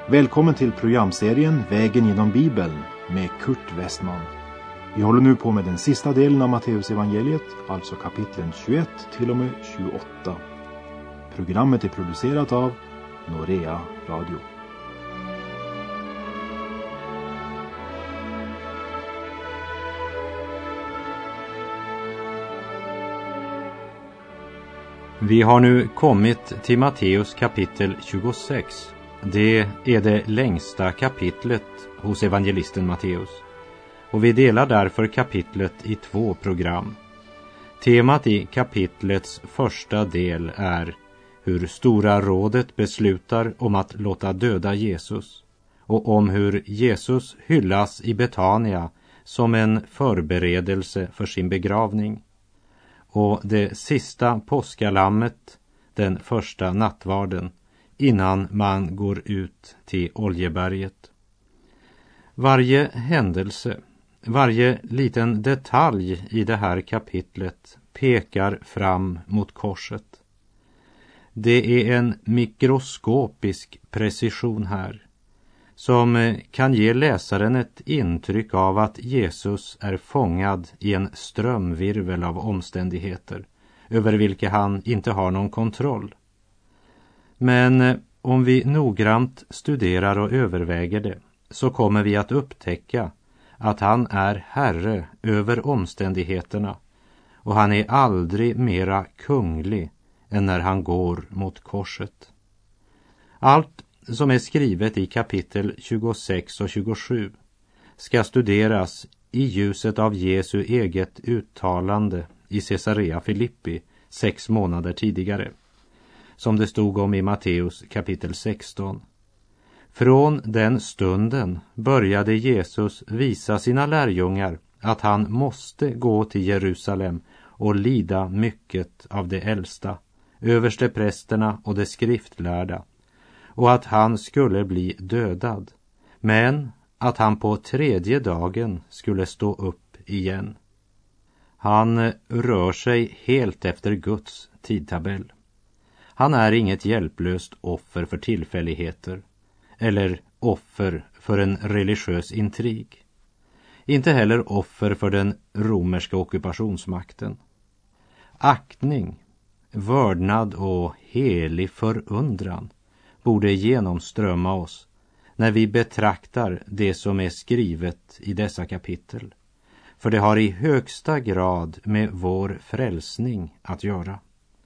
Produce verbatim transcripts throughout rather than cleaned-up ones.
Välkommen till programserien Vägen genom Bibeln med Kurt Westman. Vi håller nu på med den sista delen av Matteus evangeliet, alltså kapitlen tjugoett till och med tjugoåtta. Programmet är producerat av Norea Radio. Vi har nu kommit till Matteus kapitel tjugosex. Det är det längsta kapitlet hos evangelisten Matteus. Och vi delar därför kapitlet i två program. Temat i kapitlets första del är hur Stora rådet beslutar om att låta döda Jesus och om hur Jesus hyllas i Betania som en förberedelse för sin begravning. Och det sista påskalammet, den första nattvarden, innan man går ut till Oljeberget. Varje händelse, varje liten detalj i det här kapitlet pekar fram mot korset. Det är en mikroskopisk precision här som kan ge läsaren ett intryck av att Jesus är fångad i en strömvirvel av omständigheter över vilka han inte har någon kontroll. Men om vi noggrant studerar och överväger det så kommer vi att upptäcka att han är herre över omständigheterna och han är aldrig mera kunglig än när han går mot korset. Allt som är skrivet i kapitel tjugosex och tjugosju ska studeras i ljuset av Jesu eget uttalande i Caesarea Filippi sex månader tidigare, som det stod om i Matteus kapitel sexton. Från den stunden började Jesus visa sina lärjungar att han måste gå till Jerusalem och lida mycket av de äldsta, översteprästerna och de skriftlärda, och att han skulle bli dödad, men att han på tredje dagen skulle stå upp igen. Han rör sig helt efter Guds tidtabell. Han är inget hjälplöst offer för tillfälligheter eller offer för en religiös intrig. Inte heller offer för den romerska ockupationsmakten. Aktning, vördnad och helig förundran borde genomströmma oss när vi betraktar det som är skrivet i dessa kapitel. För det har i högsta grad med vår frälsning att göra.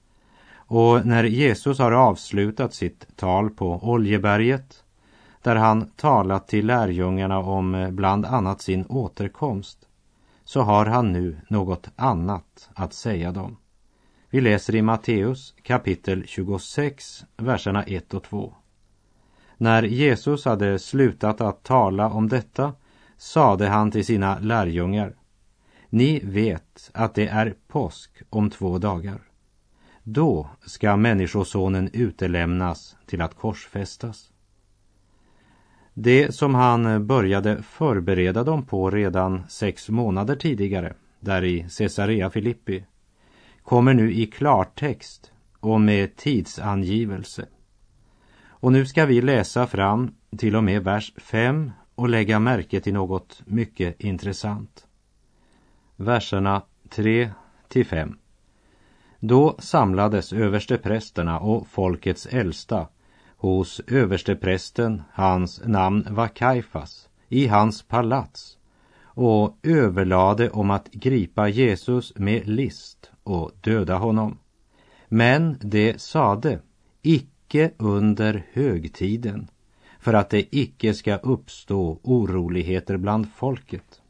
Och när Jesus har avslutat sitt tal på Oljeberget, där han talat till lärjungarna om bland annat sin återkomst, så har han nu något annat att säga dem. Vi läser i Matteus kapitel tjugosex, verserna ett och två. När Jesus hade slutat att tala om detta, sade han till sina lärjungar: Ni vet att det är påsk om två dagar. Då ska människosonen utelämnas till att korsfästas. Det som han började förbereda dem på redan sex månader tidigare, där i Caesarea Filippi, kommer nu i klartext och med tidsangivelse. Och nu ska vi läsa fram till och med vers fem och lägga märke till något mycket intressant. Verserna tre till fem. Då samlades översteprästerna och folkets äldsta hos översteprästen, hans namn var Kajfas, i hans palats, och överlade om att gripa Jesus med list och döda honom. Men det sade, icke under högtiden, för att det icke ska uppstå oroligheter bland folket.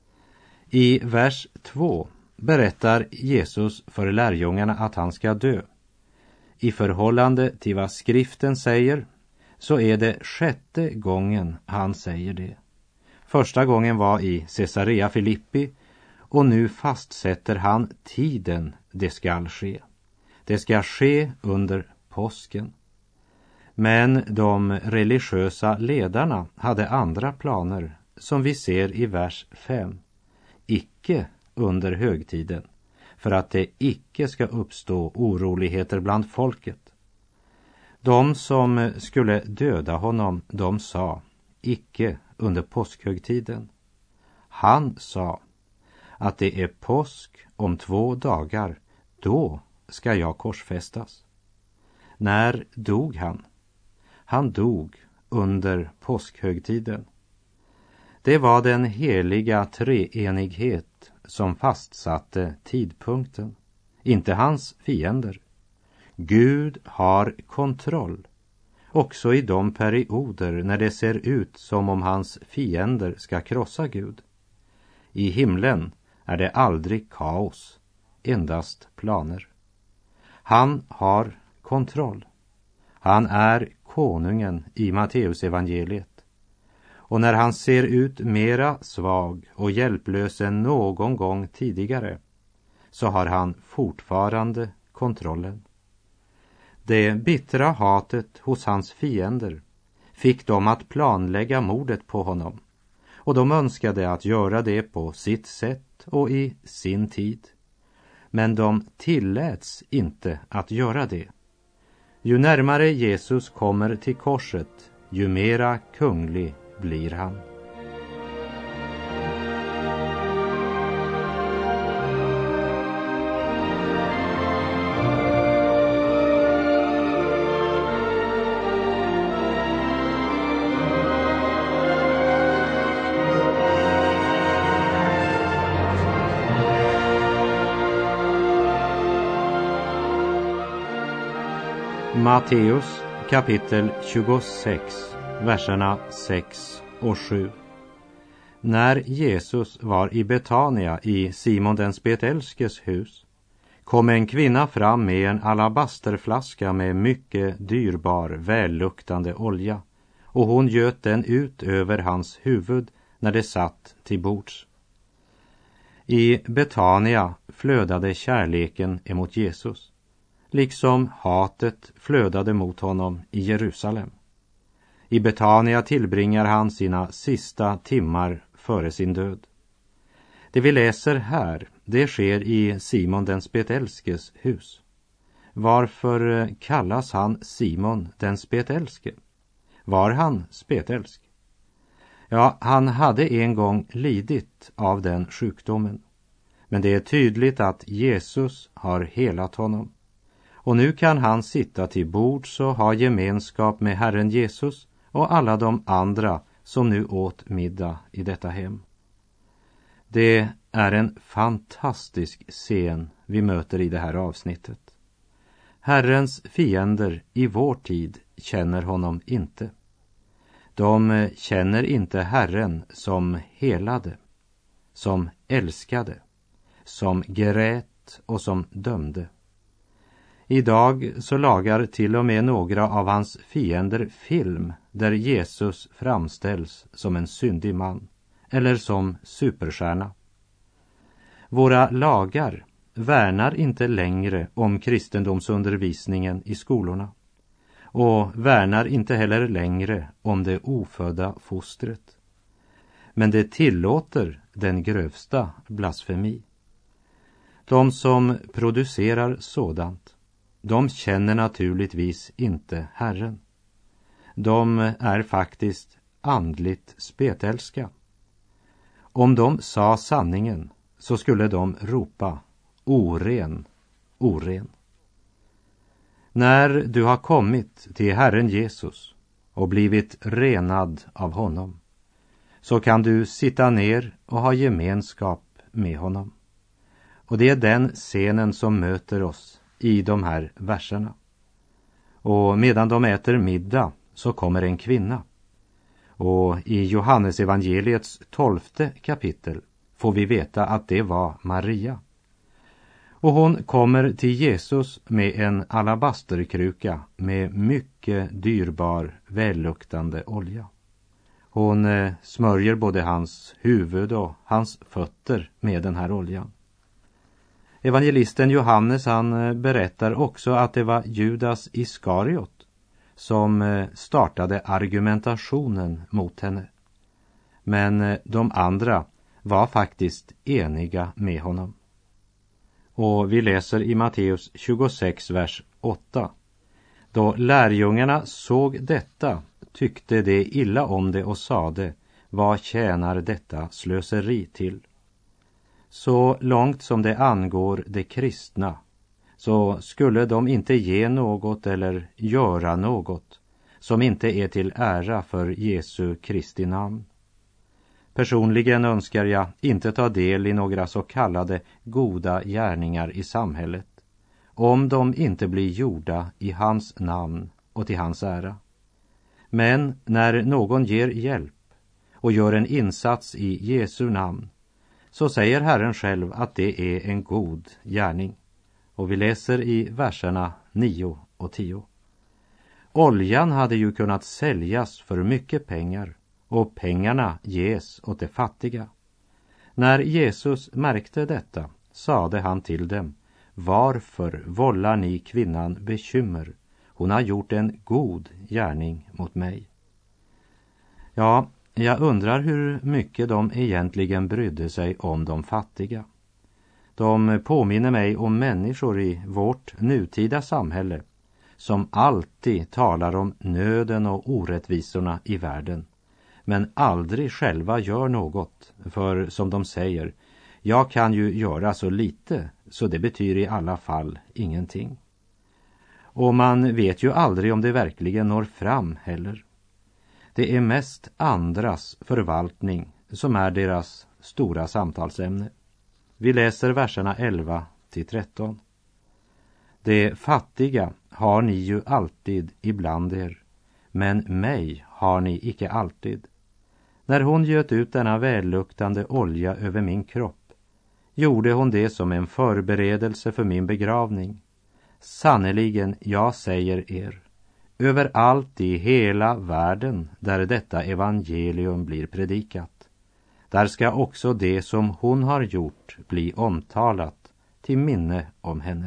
I vers två berättar Jesus för lärjungarna att han ska dö. I förhållande till vad skriften säger så är det sjätte gången han säger det. Första gången var i Caesarea Filippi och nu fastsätter han tiden det skall ske. Det ska ske under påsken. Men de religiösa ledarna hade andra planer som vi ser i vers fem. Icke under högtiden, för att det icke ska uppstå oroligheter bland folket. De som skulle döda honom, de sa, icke under påskhögtiden. Han sa att det är påsk om två dagar, då ska jag korsfästas. När dog han? Han dog under påskhögtiden. Det var den heliga treenighet som fastsatte tidpunkten, inte hans fiender. Gud har kontroll, också i de perioder när det ser ut som om hans fiender ska krossa Gud. I himlen är det aldrig kaos, endast planer. Han har kontroll. Han är konungen i Matteus evangeliet. Och när han ser ut mera svag och hjälplös än någon gång tidigare, så har han fortfarande kontrollen. Det bittra hatet hos hans fiender fick dem att planlägga mordet på honom, och de önskade att göra det på sitt sätt och i sin tid. Men de tilläts inte att göra det. Ju närmare Jesus kommer till korset, ju mera kunglig blir han. Matteus kapitel tjugosex, verserna sex och sju. När Jesus var i Betania i Simon den spetälskes hus, kom en kvinna fram med en alabasterflaska med mycket dyrbar, välluktande olja, och hon göt den ut över hans huvud när det satt till bords. I Betania flödade kärleken emot Jesus, liksom hatet flödade mot honom i Jerusalem. I Betania tillbringar han sina sista timmar före sin död. Det vi läser här, det sker i Simon den spetälskes hus. Varför kallas han Simon den spetälske? Var han spetälsk? Ja, han hade en gång lidit av den sjukdomen. Men det är tydligt att Jesus har helat honom. Och nu kan han sitta till bords och ha gemenskap med Herren Jesus och alla de andra som nu åt middag i detta hem. Det är en fantastisk scen vi möter i det här avsnittet. Herrens fiender i vår tid känner honom inte. De känner inte Herren som helade, som älskade, som grät och som dömde. Idag så lagar till och med några av hans fiender film där Jesus framställs som en syndig man eller som superstjärna. Våra lagar värnar inte längre om kristendomsundervisningen i skolorna och värnar inte heller längre om det ofödda fostret. Men det tillåter den grövsta blasfemi. De som producerar sådant, de känner naturligtvis inte Herren. De är faktiskt andligt spetälska. Om de sa sanningen så skulle de ropa oren, oren. När du har kommit till Herren Jesus och blivit renad av honom, så kan du sitta ner och ha gemenskap med honom. Och det är den scenen som möter oss i de här verserna. Och medan de äter middag så kommer en kvinna. Och i Johannes evangeliets tolfte kapitel får vi veta att det var Maria. Och hon kommer till Jesus med en alabasterkruka med mycket dyrbar, välluktande olja. Hon eh, smörjer både hans huvud och hans fötter med den här oljan. Evangelisten Johannes han berättar också att det var Judas Iskariot som startade argumentationen mot henne. Men de andra var faktiskt eniga med honom. Och vi läser i Matteus tjugosex, vers åtta. Då lärjungarna såg detta tyckte de illa om det och sade: vad tjänar detta slöseri till? Så långt som det angår de kristna, så skulle de inte ge något eller göra något som inte är till ära för Jesu Kristi namn. Personligen önskar jag inte ta del i några så kallade goda gärningar i samhället, om de inte blir gjorda i hans namn och till hans ära. Men när någon ger hjälp och gör en insats i Jesu namn, så säger Herren själv att det är en god gärning. Och vi läser i verserna nio och tio. Oljan hade ju kunnat säljas för mycket pengar, och pengarna ges åt de fattiga. När Jesus märkte detta sade han till dem: varför vållar ni kvinnan bekymmer? Hon har gjort en god gärning mot mig. Ja, jag undrar hur mycket de egentligen brydde sig om de fattiga. De påminner mig om människor i vårt nutida samhälle som alltid talar om nöden och orättvisorna i världen, men aldrig själva gör något, för som de säger: jag kan ju göra så lite, så det betyder i alla fall ingenting. Och man vet ju aldrig om det verkligen når fram heller. Det är mest andras förvaltning som är deras stora samtalsämne. Vi läser verserna elva till tretton. Det fattiga har ni ju alltid ibland er, men mig har ni icke alltid. När hon göt ut denna välluktande olja över min kropp, gjorde hon det som en förberedelse för min begravning. Sannerligen, jag säger er, överallt i hela världen där detta evangelium blir predikat, där ska också det som hon har gjort bli omtalat till minne om henne.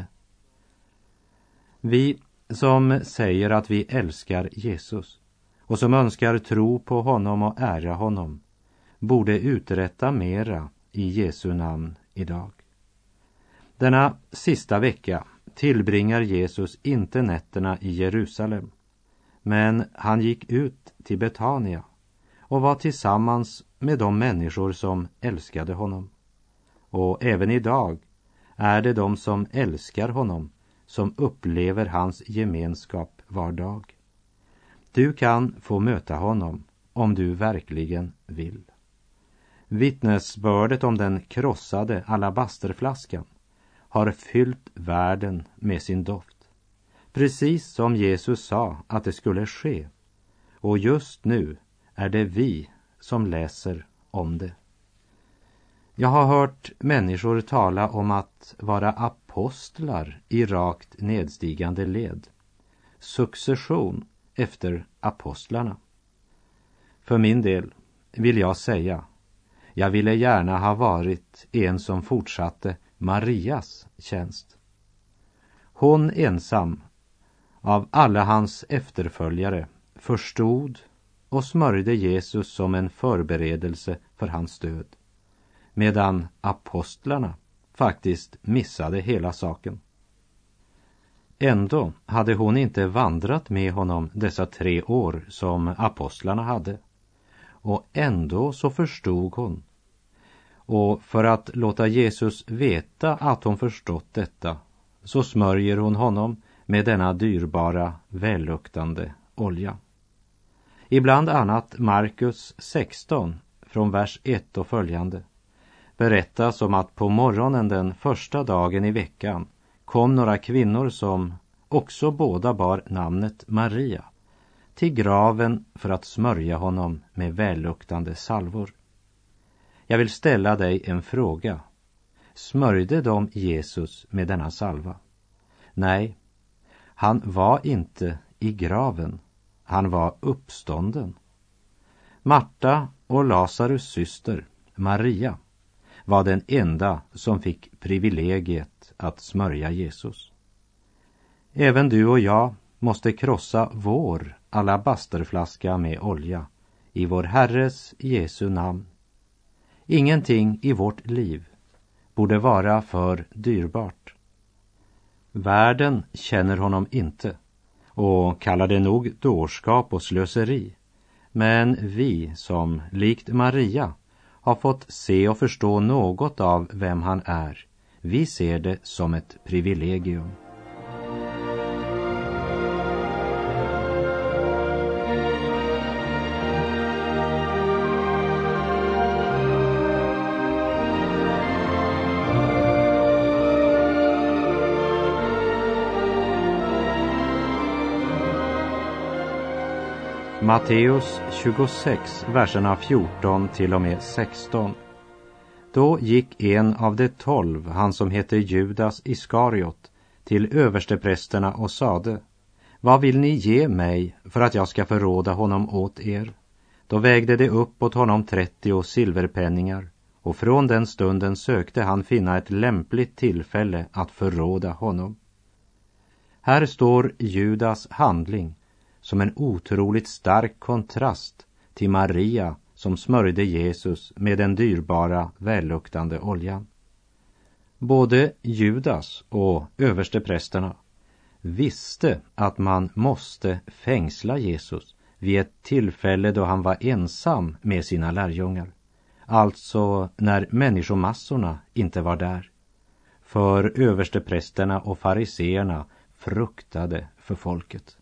Vi som säger att vi älskar Jesus och som önskar tro på honom och ära honom borde uträtta mera i Jesu namn idag. Denna sista vecka tillbringar Jesus inte nätterna i Jerusalem, men han gick ut till Betania och var tillsammans med de människor som älskade honom. Och även idag är det de som älskar honom som upplever hans gemenskap var dag. Du kan få möta honom om du verkligen vill. Vittnesbördet om den krossade alabasterflaskan har fyllt världen med sin doft, precis som Jesus sa att det skulle ske. Och just nu är det vi som läser om det. Jag har hört människor tala om att vara apostlar i rakt nedstigande led. Succession efter apostlarna. För min del vill jag säga, jag ville gärna ha varit en som fortsatte Marias tjänst. Hon ensam av alla hans efterföljare förstod och smörjde Jesus som en förberedelse för hans död, medan apostlarna faktiskt missade hela saken. Ändå hade hon inte vandrat med honom dessa tre år som apostlarna hade. Och ändå så förstod hon. Och för att låta Jesus veta att hon förstått detta, så smörjer hon honom med denna dyrbara, välluktande olja. Ibland annat Markus sexton från vers ett och följande berättas om att på morgonen den första dagen i veckan kom några kvinnor som också båda bar namnet Maria till graven för att smörja honom med välluktande salvor. Jag vill ställa dig en fråga. Smörjde de Jesus med denna salva? Nej, han var inte i graven. Han var uppstånden. Marta och Lazarus syster, Maria, var den enda som fick privilegiet att smörja Jesus. Även du och jag måste krossa vår alabasterflaska med olja i vår Herres Jesu namn. Ingenting i vårt liv borde vara för dyrbart. Världen känner honom inte, och kallar det nog dårskap och slöseri. Men vi som, likt Maria, har fått se och förstå något av vem han är, vi ser det som ett privilegium. Matteus tjugosex, verserna fjorton till och med sexton. Då gick en av de tolv, han som heter Judas Iskariot, till översteprästerna och sade: vad vill ni ge mig för att jag ska förråda honom åt er? Då vägde det upp åt honom trettio silverpenningar, och från den stunden sökte han finna ett lämpligt tillfälle att förråda honom. Här står Judas handling som en otroligt stark kontrast till Maria som smörjde Jesus med den dyrbara, välluktande oljan. Både Judas och översteprästerna visste att man måste fängsla Jesus vid ett tillfälle då han var ensam med sina lärjungar. Alltså när människomassorna inte var där. För översteprästerna och fariseerna fruktade för folket.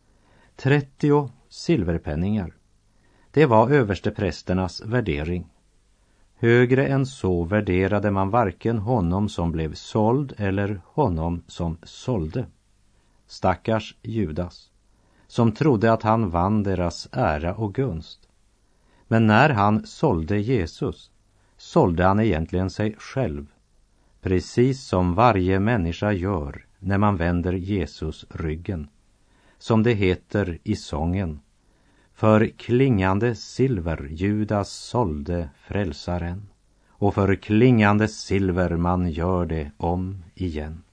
trettio silverpenningar. Det var översteprästernas värdering. Högre än så värderade man varken honom som blev såld eller honom som sålde. Stackars Judas, som trodde att han vann deras ära och gunst. Men när han sålde Jesus, sålde han egentligen sig själv. Precis som varje människa gör när man vänder Jesus ryggen. Som det heter i sången: för klingande silver Judas sålde frälsaren, och för klingande silver man gör det om igen.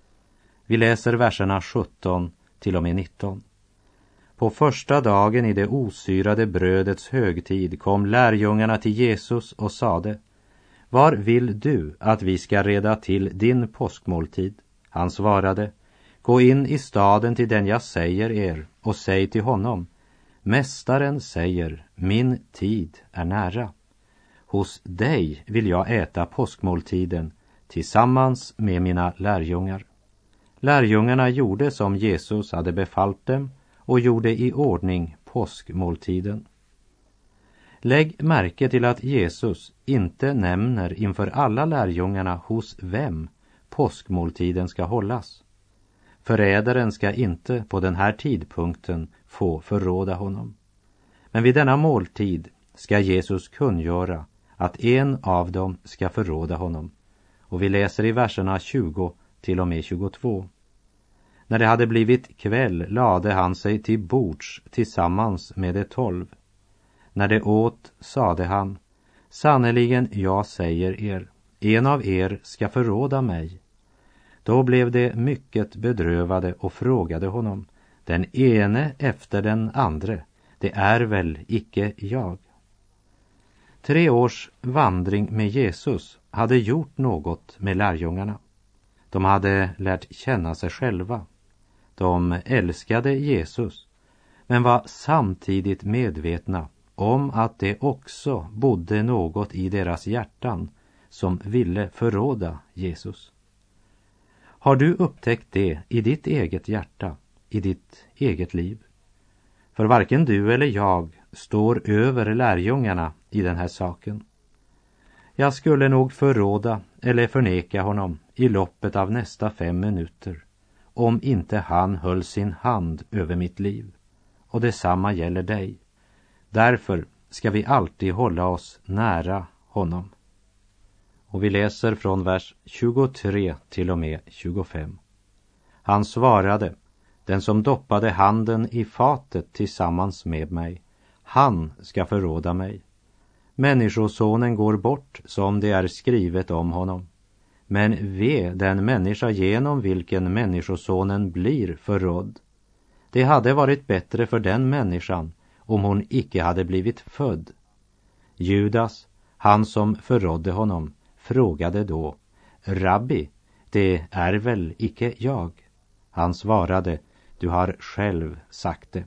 Vi läser verserna sjutton till och med nitton. På första dagen i det osyrade brödets högtid kom lärjungarna till Jesus och sade: var vill du att vi ska reda till din påskmåltid? Han svarade: gå in i staden till den jag säger er och säg till honom: mästaren säger, min tid är nära. Hos dig vill jag äta påskmåltiden tillsammans med mina lärjungar. Lärjungarna gjorde som Jesus hade befallt dem och gjorde i ordning påskmåltiden. Lägg märke till att Jesus inte nämner inför alla lärjungarna hos vem påskmåltiden ska hållas. Förrädaren ska inte på den här tidpunkten få förråda honom. Men vid denna måltid ska Jesus kungöra att en av dem ska förråda honom. Och vi läser i verserna tjugo till och med tjugotvå. När det hade blivit kväll lade han sig till bords tillsammans med de tolv. När det åt sade han: sannerligen jag säger er, en av er ska förråda mig. Då blev de mycket bedrövade och frågade honom, den ene efter den andre, det är väl icke jag? Tre års vandring med Jesus hade gjort något med lärjungarna. De hade lärt känna sig själva. De älskade Jesus, men var samtidigt medvetna om att det också bodde något i deras hjärtan som ville förråda Jesus. Har du upptäckt det i ditt eget hjärta, i ditt eget liv? För varken du eller jag står över lärjungarna i den här saken. Jag skulle nog förråda eller förneka honom i loppet av nästa fem minuter, om inte han höll sin hand över mitt liv. Och detsamma gäller dig. Därför ska vi alltid hålla oss nära honom. Och vi läser från vers tjugotre till och med tjugofem. Han svarade: den som doppade handen i fatet tillsammans med mig, han ska förråda mig. Människosonen går bort som det är skrivet om honom. Men ve den människa genom vilken människosonen blir förrådd. Det hade varit bättre för den människan om hon icke hade blivit född. Judas, han som förrådde honom, frågade då: Rabbi, det är väl icke jag? Han svarade: du har själv sagt det.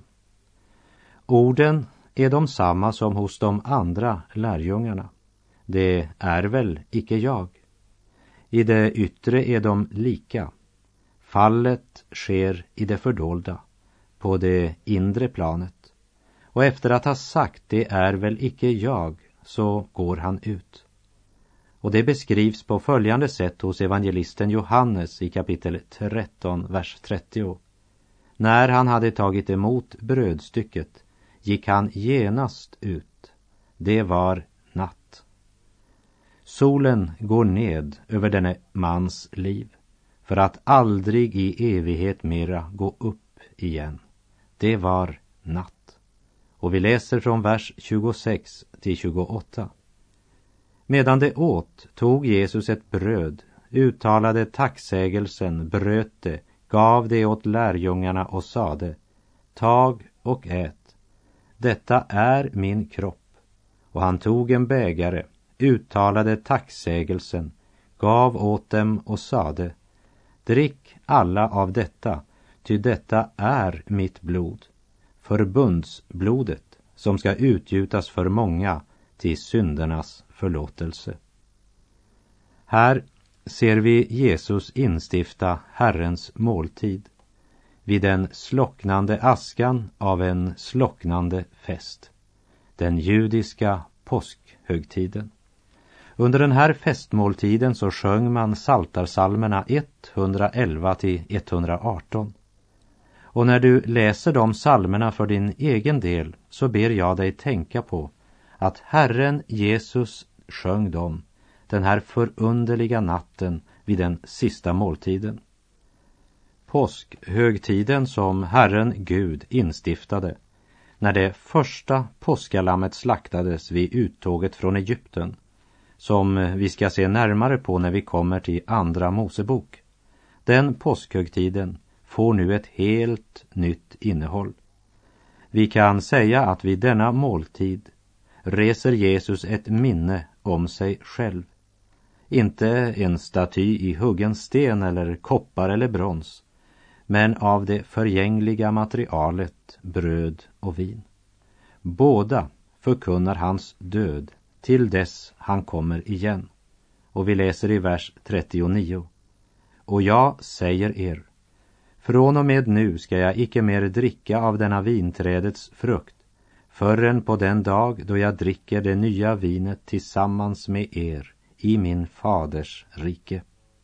Orden är de samma som hos de andra lärjungarna. Det är väl icke jag. I det yttre är de lika. Fallet sker i det fördolda, på det inre planet. Och efter att ha sagt det är väl icke jag, så går han ut. Och det beskrivs på följande sätt hos evangelisten Johannes i kapitel tretton, vers trettio. När han hade tagit emot brödstycket gick han genast ut. Det var natt. Solen går ned över denne mans liv för att aldrig i evighet mera gå upp igen. Det var natt. Och vi läser från vers tjugosex till tjugoåtta. Medan det åt tog Jesus ett bröd, uttalade tacksägelsen, bröt det, gav det åt lärjungarna och sade: tag och ät, detta är min kropp. Och han tog en bägare, uttalade tacksägelsen, gav åt dem och sade: drick alla av detta, ty detta är mitt blod, förbundsblodet som ska utgjutas för många till syndernas förlåtelse. Här ser vi Jesus instifta Herrens måltid vid den slocknande askan av en slocknande fest, den judiska påskhögtiden. Under den här festmåltiden så sjöng man psaltarpsalmerna etthundraelva till etthundraarton. Och när du läser de psalmerna för din egen del så ber jag dig tänka på att Herren Jesus sjöng dem den här förunderliga natten vid den sista måltiden. Påskhögtiden som Herren Gud instiftade när det första påskalammet slaktades vid uttåget från Egypten, som vi ska se närmare på när vi kommer till andra Mosebok. Den påskhögtiden får nu ett helt nytt innehåll. Vi kan säga att vid denna måltid reser Jesus ett minne om sig själv. Inte en staty i huggen sten eller koppar eller brons, men av det förgängliga materialet bröd och vin. Båda förkunnar hans död till dess han kommer igen. Och vi läser i vers trettionio. Och jag säger er, från och med nu ska jag icke mer dricka av denna vinträdets frukt, förrän på den dag då jag dricker det nya vinet tillsammans med er i min faders rike.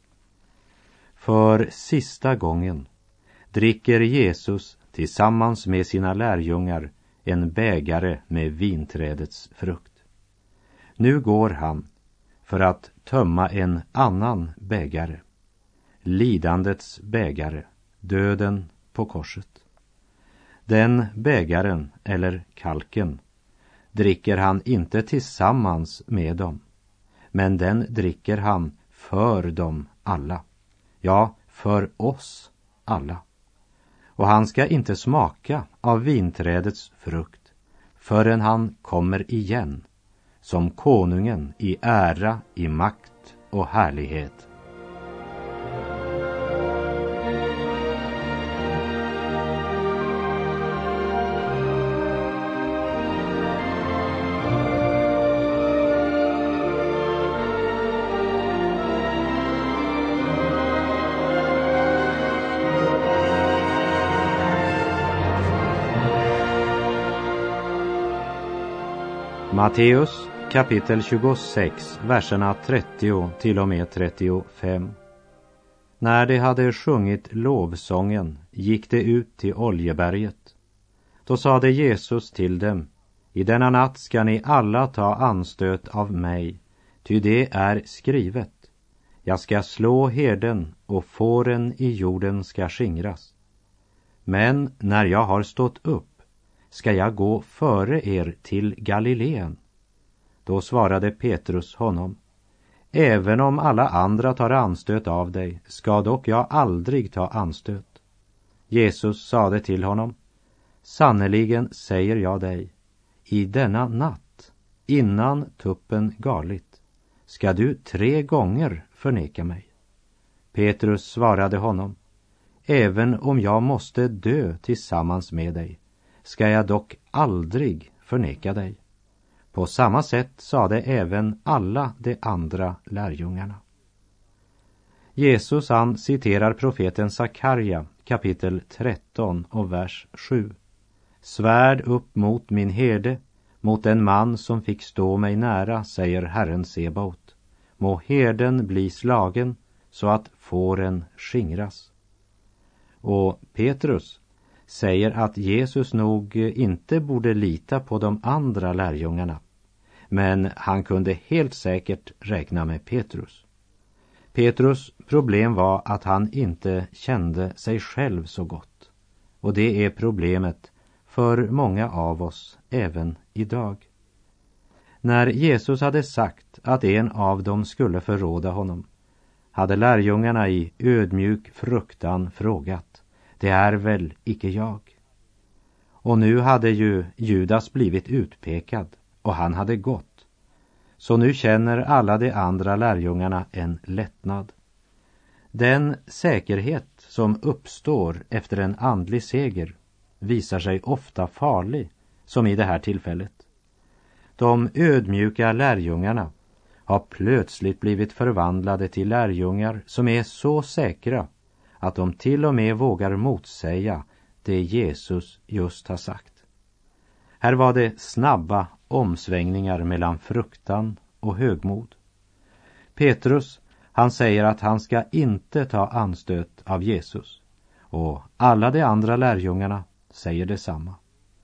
För sista gången dricker Jesus tillsammans med sina lärjungar en bägare med vinträdets frukt. Nu går han för att tömma en annan bägare, lidandets bägare, döden på korset. Den bägaren, eller kalken, dricker han inte tillsammans med dem, men den dricker han för dem alla. Ja, för oss alla. Och han ska inte smaka av vinträdets frukt förrän han kommer igen som konungen i ära, i makt och härlighet. Matteus kapitel tjugosex, verserna trettio till och med trettiofem. När de hade sjungit lovsången gick de ut till Oljeberget. Då sade Jesus till dem: i denna natt ska ni alla ta anstöt av mig, ty det är skrivet: jag ska slå herden och fåren i jorden ska skingras. Men när jag har stått upp ska jag gå före er till Galileen. Då svarade Petrus honom: även om alla andra tar anstöt av dig, ska dock jag aldrig ta anstöt. Jesus sade till honom: sannerligen säger jag dig, i denna natt, innan tuppen galit, ska du tre gånger förneka mig. Petrus svarade honom: även om jag måste dö tillsammans med dig, ska jag dock aldrig förneka dig. På samma sätt sade även alla de andra lärjungarna. Jesus han citerar profeten Sakarja kapitel tretton och vers sju. Svärd upp mot min herde, mot en man som fick stå mig nära, säger Herren Sebaot. Må herden bli slagen så att fåren skingras. Och Petrus säger att Jesus nog inte borde lita på de andra lärjungarna, men han kunde helt säkert räkna med Petrus. Petrus problem var att han inte kände sig själv så gott. Och det är problemet för många av oss även idag. När Jesus hade sagt att en av dem skulle förråda honom, hade lärjungarna i ödmjuk fruktan frågat: det är väl icke jag? Och nu hade ju Judas blivit utpekad och han hade gått. Så nu känner alla de andra lärjungarna en lättnad. Den säkerhet som uppstår efter en andlig seger visar sig ofta farlig, som i det här tillfället. De ödmjuka lärjungarna har plötsligt blivit förvandlade till lärjungar som är så säkra att de till och med vågar motsäga det Jesus just har sagt. Här var det snabba omsvängningar mellan fruktan och högmod. Petrus, han säger att han ska inte ta anstöt av Jesus, och alla de andra lärjungarna säger detsamma.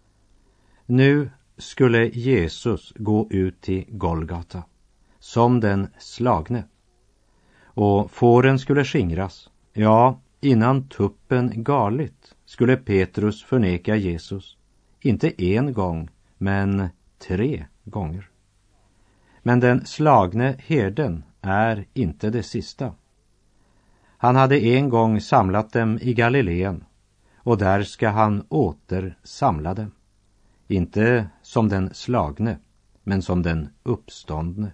Nu skulle Jesus gå ut till Golgata som den slagne, och fåren skulle skingras. Ja, innan tuppen galit skulle Petrus förneka Jesus, inte en gång, men tre gånger. Men den slagne herden är inte det sista. Han hade en gång samlat dem i Galileen, och där ska han åter samla dem. Inte som den slagne, men som den uppståndne.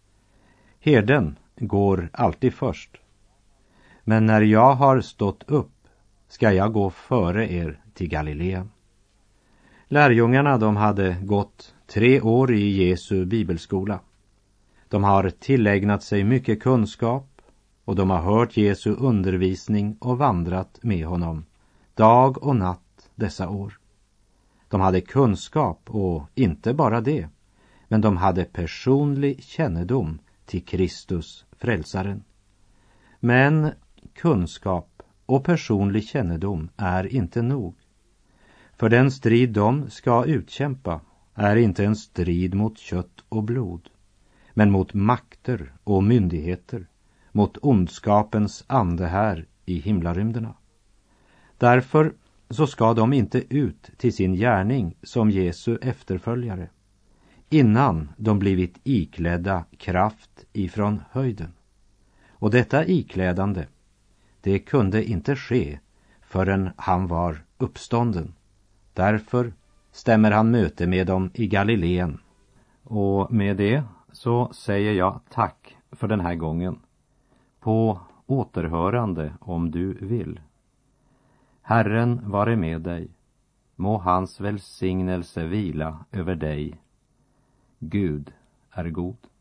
Herden går alltid först. Men när jag har stått upp ska jag gå före er till Galileen. Lärjungarna, de hade gått tre år i Jesu bibelskola. De har tillägnat sig mycket kunskap, och de har hört Jesu undervisning och vandrat med honom dag och natt dessa år. De hade kunskap, och inte bara det, men de hade personlig kännedom till Kristus, frälsaren. Men kunskap och personlig kännedom är inte nog. För den strid de ska utkämpa är inte en strid mot kött och blod, men mot makter och myndigheter, mot ondskapens ande här i himlarymderna. Därför så ska de inte ut till sin gärning som Jesu efterföljare, innan de blivit iklädda kraft ifrån höjden. Och detta iklädande, det kunde inte ske förrän han var uppstånden. Därför stämmer han möte med dem i Galileen. Och med det så säger jag tack för den här gången. På återhörande om du vill. Herren vare med dig. Må hans välsignelse vila över dig. Gud är god.